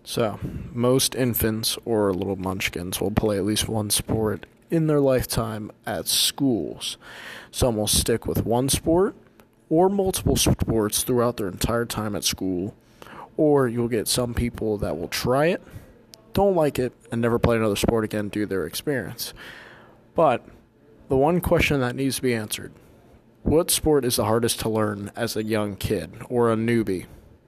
So, most infants or little munchkins will play at least one sport in their lifetime at schools. Some will stick with one sport or multiple sports throughout their entire time at school, or you'll get some people that will try it, don't like it, and never play another sport again due to their experience. But the one question that needs to be answered: what sport is the hardest to learn as a young kid or a newbie?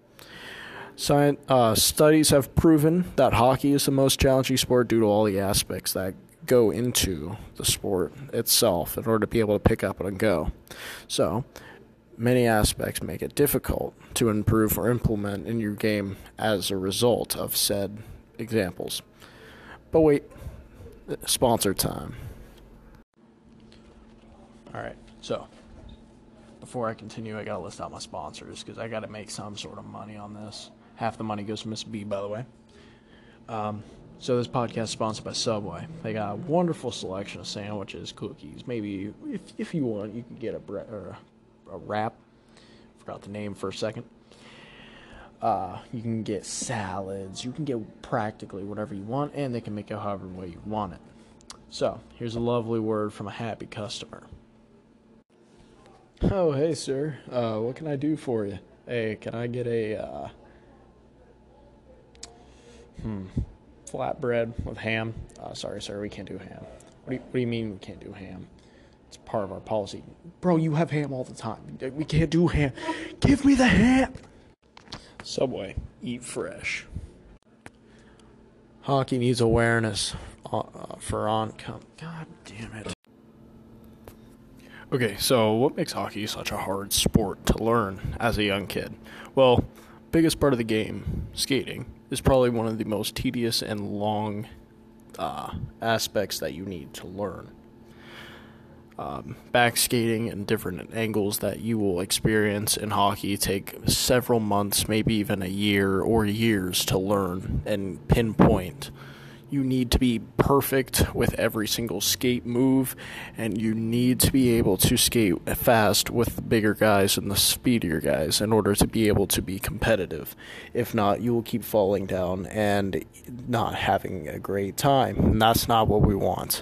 Studies have proven that hockey is the most challenging sport due to all the aspects that go into the sport itself in order to be able to pick up and go. So, many aspects make it difficult to improve or implement in your game as a result of said examples. But wait, sponsor time. Alright, so before I continue, I gotta list out my sponsors because I gotta make some sort of money on this. Half the money goes to Miss B, by the way. So this podcast is sponsored by Subway. They got a wonderful selection of sandwiches, cookies. Maybe if you want, you can get a wrap. Forgot the name for a second. You can get salads. You can get practically whatever you want, and they can make it however way you want it. So here's a lovely word from a happy customer. Oh, hey, sir. What can I do for you? Hey, can I get a flatbread with ham? Sorry, sir, we can't do ham. What do you mean we can't do ham? It's part of our policy. Bro, you have ham all the time. We can't do ham. Give me the ham! Subway. Eat fresh. Hockey needs awareness for oncoming. God damn it. Okay, so what makes hockey such a hard sport to learn as a young kid? Well, biggest part of the game, skating, is probably one of the most tedious and long aspects that you need to learn. Back skating and different angles that you will experience in hockey take several months, maybe even a year or years to learn and pinpoint. You need to be perfect with every single skate move, and you need to be able to skate fast with the bigger guys and the speedier guys in order to be able to be competitive. If not, you will keep falling down and not having a great time, and that's not what we want.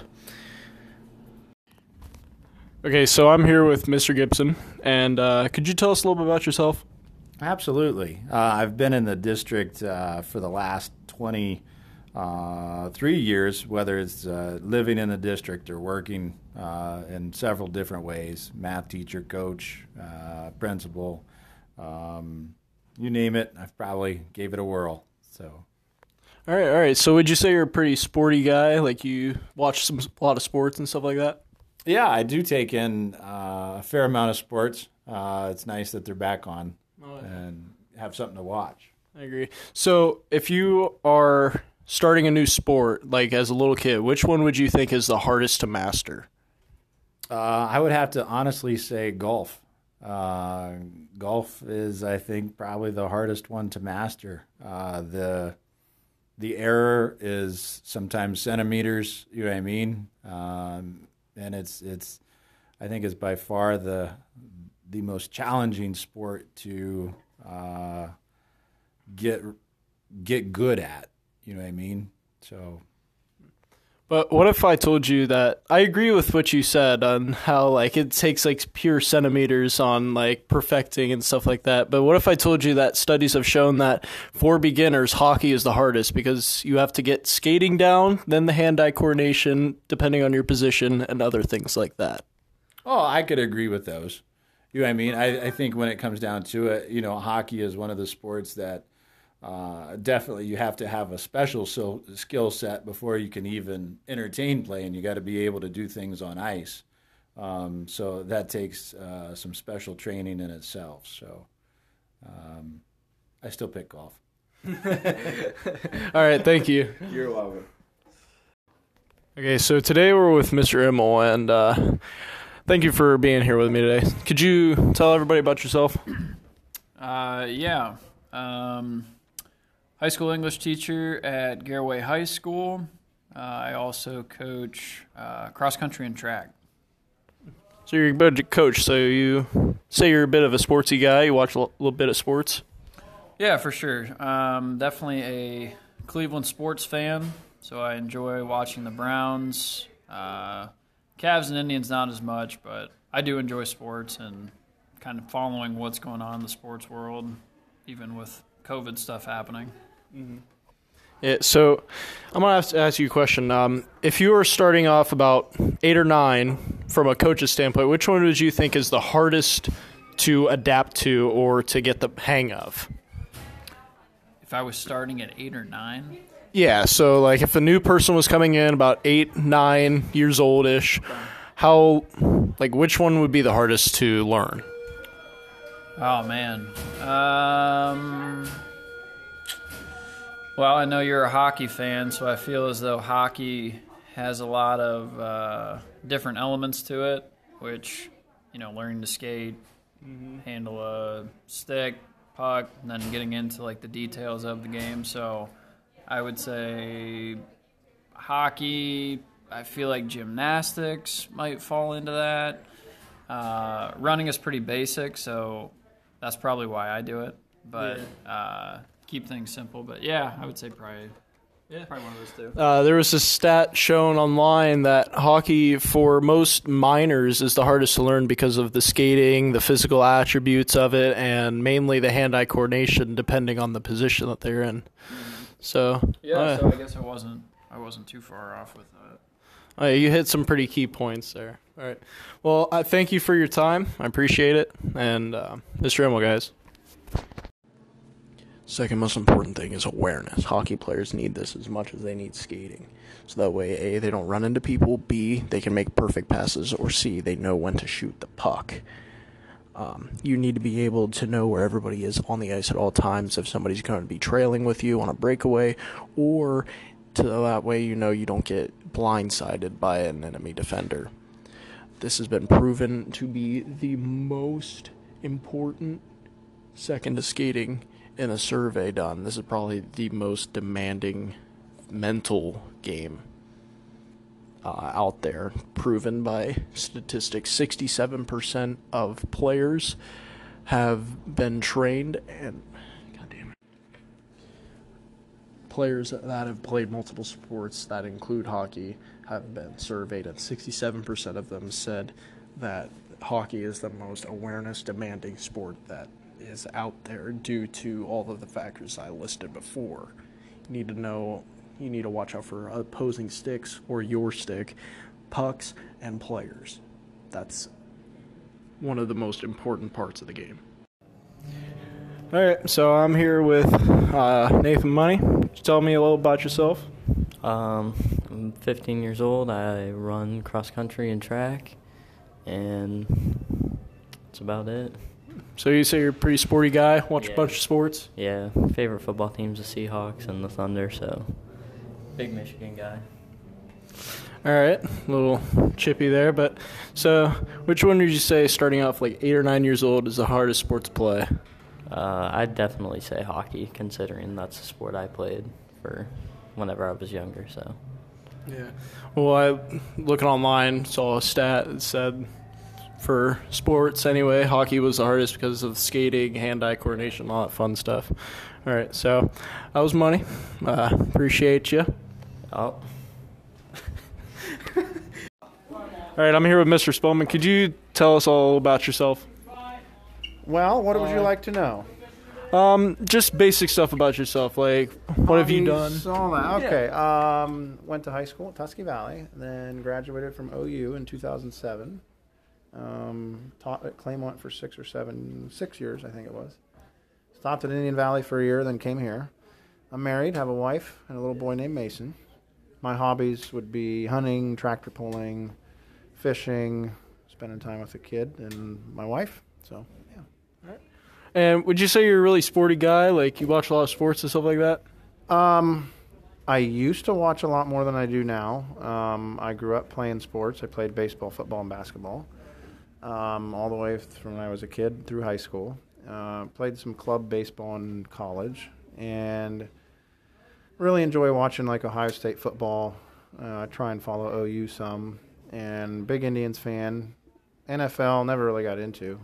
Okay, so I'm here with Mr. Gibson, and could you tell us a little bit about yourself? Absolutely. I've been in the district for the last 23 years, whether it's living in the district or working in several different ways, math teacher, coach, principal, you name it, I've probably gave it a whirl. So. All right. So would you say you're a pretty sporty guy? Like you watch a lot of sports and stuff like that? Yeah, I do take in a fair amount of sports. It's nice that they're back on and have something to watch. I agree. So if you are starting a new sport, like as a little kid, which one would you think is the hardest to master? I would have to honestly say golf. Golf is, I think, probably the hardest one to master. The error is sometimes centimeters, you know what I mean? And it's I think it's by far the most challenging sport to get good at. You know what I mean? So. But what if I told you that I agree with what you said on how like it takes like pure centimeters on like perfecting and stuff like that. But what if I told you that studies have shown that for beginners, hockey is the hardest because you have to get skating down, then the hand-eye coordination, depending on your position, and other things like that. Oh, I could agree with those. You know what I mean? I think when it comes down to it, you know, hockey is one of the sports that definitely you have to have a special skill set before you can even entertain play, and you got to be able to do things on ice. So that takes some special training in itself. So I still pick golf. All right, thank you. You're welcome. Okay, so today we're with Mr. Immel, and thank you for being here with me today. Could you tell everybody about yourself? Yeah. High school English teacher at Garaway High School. I also coach cross country and track. So you're a good coach. So you say you're a bit of a sportsy guy. You watch a little bit of sports. Yeah, for sure. Definitely Cleveland sports fan, so I enjoy watching the Browns. Cavs and Indians not as much, but I do enjoy sports and kind of following what's going on in the sports world, even with COVID stuff happening. Mm-hmm. Yeah, so I'm going to ask you a question. If you were starting off about 8 or 9 from a coach's standpoint, which one would you think is the hardest to adapt to or to get the hang of? If I was starting at 8 or 9? Yeah, so like if a new person was coming in about 8, 9 years old-ish, which one would be the hardest to learn? Oh, man. Well, I know you're a hockey fan, so I feel as though hockey has a lot of different elements to it, which, learning to skate, handle a stick, puck, and then getting into, the details of the game. So I would say hockey. I feel like gymnastics might fall into that. Running is pretty basic, so that's probably why I do it. But keep things simple. But yeah, I would say probably one of those two. There was a stat shown online that hockey for most minors is the hardest to learn because of the skating, the physical attributes of it, and mainly the hand-eye coordination depending on the position that they're in. So so I guess I wasn't too far off with that. You hit some pretty key points there. All right. Well, I thank you for your time. I appreciate it. And Mr. Emil, guys. Second most important thing is awareness. Hockey players need this as much as they need skating. So that way, A, they don't run into people, B, they can make perfect passes, or C, they know when to shoot the puck. You need to be able to know where everybody is on the ice at all times if somebody's going to be trailing with you on a breakaway, or to that way you don't get blindsided by an enemy defender. This has been proven to be the most important, second to skating, in a survey done. This is probably the most demanding mental game out there, proven by statistics. 67% of players have been trained, and players that have played multiple sports that include hockey have been surveyed, and 67% of them said that hockey is the most awareness demanding sport that is out there due to all of the factors I listed before. You need to watch out for opposing sticks or your stick, pucks, and players. That's one of the most important parts of the game. All right, so I'm here with Nathan Money. Tell me a little about yourself. I'm 15 years old. I run cross country and track, and that's about it. So you say you're a pretty sporty guy, watch a bunch of sports? Yeah, favorite football teams, the Seahawks and the Thunder, so big Michigan guy. All right, a little chippy there, but so which one would you say starting off 8 or 9 years old is the hardest sport to play? I'd definitely say hockey, considering that's the sport I played for whenever I was younger, so. Yeah. Well, I looking online, saw a stat that said for sports anyway, hockey was the hardest because of skating, hand-eye coordination, all that fun stuff. All right, so that was Money. Appreciate you. Oh. All right, I'm here with Mr. Spellman. Could you tell us all about yourself? Well, what would you like to know? Just basic stuff about yourself, like what have you done? Okay. Went to high school at Tusky Valley, then graduated from OU in 2007. Taught at Claymont for 6 years, I think it was. Stopped at Indian Valley for a year, then came here. I'm married, have a wife, and a little boy named Mason. My hobbies would be hunting, tractor pulling, fishing, spending time with the kid, and my wife. So, yeah. All right. And would you say you're a really sporty guy? Like, you watch a lot of sports and stuff like that? I used to watch a lot more than I do now. I grew up playing sports. I played baseball, football, and basketball all the way from when I was a kid through high school. Played some club baseball in college, and really enjoy watching Ohio State football. I try and follow OU some, and big Indians fan. NFL never really got into,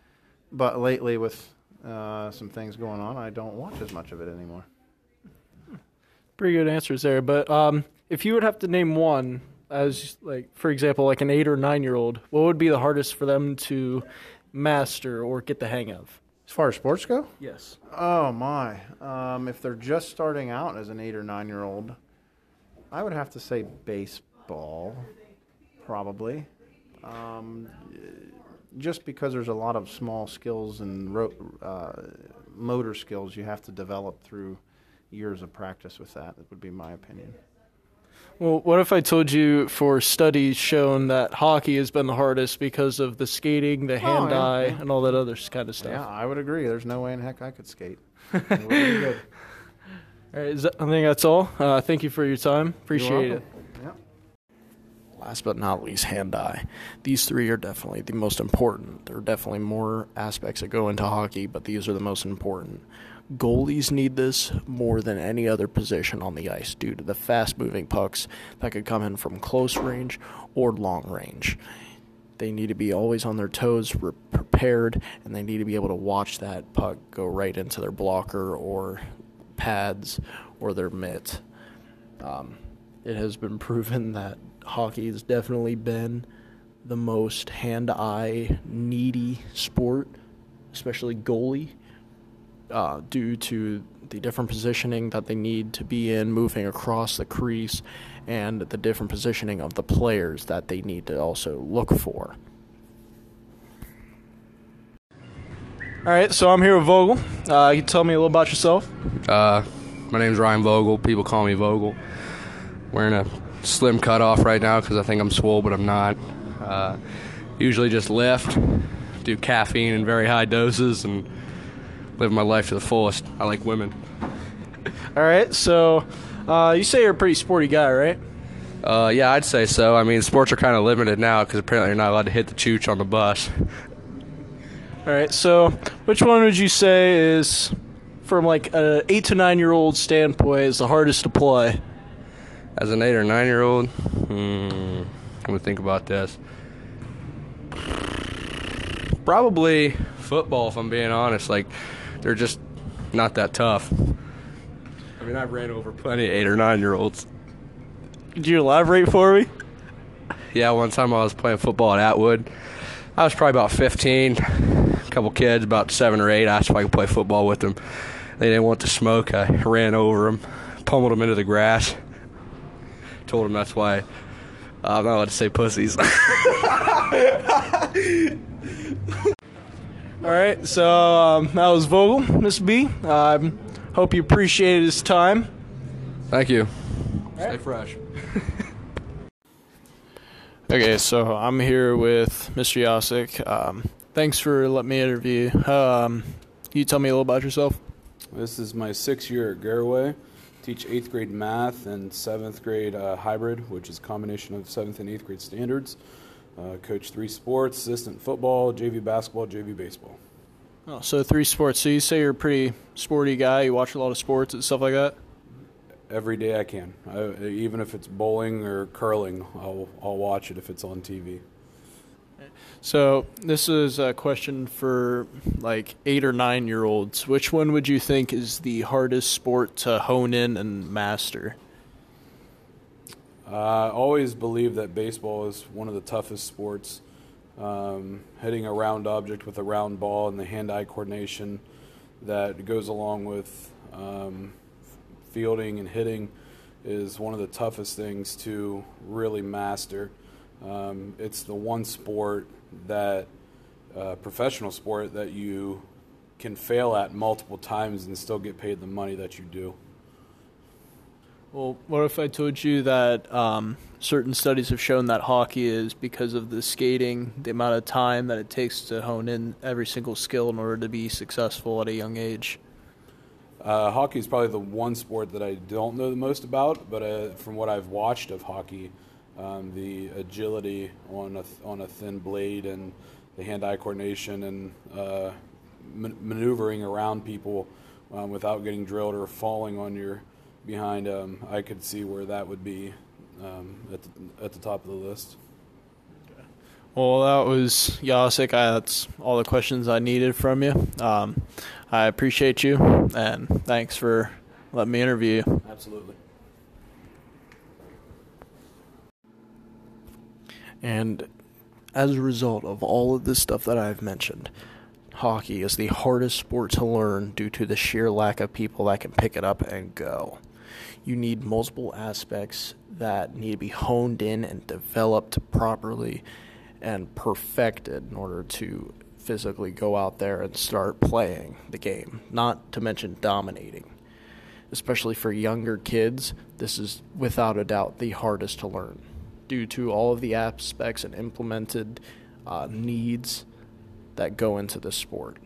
but lately with some things going on, I don't watch as much of it anymore. Pretty good answers there. But if you would have to name one, as like for example, like an 8 or 9-year-old, what would be the hardest for them to master or get the hang of? As far as sports go? Yes. Oh, my. If they're just starting out as an 8 or 9-year-old, I would have to say baseball, probably. Just because there's a lot of small skills and motor skills you have to develop through years of practice with that. That would be my opinion. Well, what if I told you for studies shown that hockey has been the hardest because of the skating, the hand-eye, and all that other kind of stuff? Yeah, I would agree. There's no way in heck I could skate. It would be good. All right, I think that's all. Thank you for your time. Appreciate it. Yep. Last but not least, hand-eye. These three are definitely the most important. There are definitely more aspects that go into hockey, but these are the most important. Goalies need this more than any other position on the ice due to the fast-moving pucks that could come in from close range or long range. They need to be always on their toes, prepared, and they need to be able to watch that puck go right into their blocker or pads or their mitt. It has been proven that hockey has definitely been the most hand-eye needy sport, especially goalie, due to the different positioning that they need to be in, moving across the crease, and the different positioning of the players that they need to also look for. All right, so I'm here with Vogel. You tell me a little about yourself. My name's Ryan Vogel. People call me Vogel. Wearing a slim cutoff right now because I think I'm swole, but I'm not. Usually just lift, do caffeine in very high doses, and live my life to the fullest. I like women. All right, so you say you're a pretty sporty guy, right? Yeah, I'd say so. I mean, sports are kind of limited now because apparently you're not allowed to hit the chooch on the bus. All right, so which one would you say is, from like an 8 to 9-year-old standpoint, is the hardest to play? As an 8 or 9-year-old, I'm going to think about this. Probably football, if I'm being honest. Like, they're just not that tough. I mean, I've ran over plenty of 8 or 9-year-olds. Could you elaborate for me? Yeah, one time I was playing football at Atwood. I was probably about 15. A couple kids, about 7 or 8, asked if I could play football with them. They didn't want to smoke. I ran over them, pummeled them into the grass. Told them that's why I'm not allowed to say pussies. All right, so that was Vogel, Miss B. Hope you appreciated his time. Thank you. Right. Stay fresh. Okay, so I'm here with Mr. Yasik. Thanks for letting me interview. Can you tell me a little about yourself? This is my 6th year at Garaway. Teach 8th grade math and 7th grade hybrid, which is a combination of 7th and 8th grade standards. Coach 3 sports, assistant football, JV basketball, JV baseball. Oh, so 3 sports. So you say you're a pretty sporty guy. You watch a lot of sports and stuff like that? Every day I can. Even if it's bowling or curling, I'll watch it if it's on TV. So this is a question for like 8 or 9-year-olds. Which one would you think is the hardest sport to hone in and master? I always believe that baseball is one of the toughest sports. Hitting a round object with a round ball and the hand-eye coordination that goes along with fielding and hitting is one of the toughest things to really master. It's the one sport that professional sport that you can fail at multiple times and still get paid the money that you do. Well, what if I told you that certain studies have shown that hockey is, because of the skating, the amount of time that it takes to hone in every single skill in order to be successful at a young age? Hockey is probably the one sport that I don't know the most about, but from what I've watched of hockey, the agility on a thin blade and the hand-eye coordination and maneuvering around people without getting drilled or falling on your behind, I could see where that would be at the top of the list. Well, that was Yasik. That's all the questions I needed from you. I appreciate you, and thanks for letting me interview you. Absolutely. And as a result of all of this stuff that I've mentioned, hockey is the hardest sport to learn due to the sheer lack of people that can pick it up and go. You need multiple aspects that need to be honed in and developed properly and perfected in order to physically go out there and start playing the game, not to mention dominating. Especially for younger kids, this is without a doubt the hardest to learn due to all of the aspects and implemented needs that go into the sport.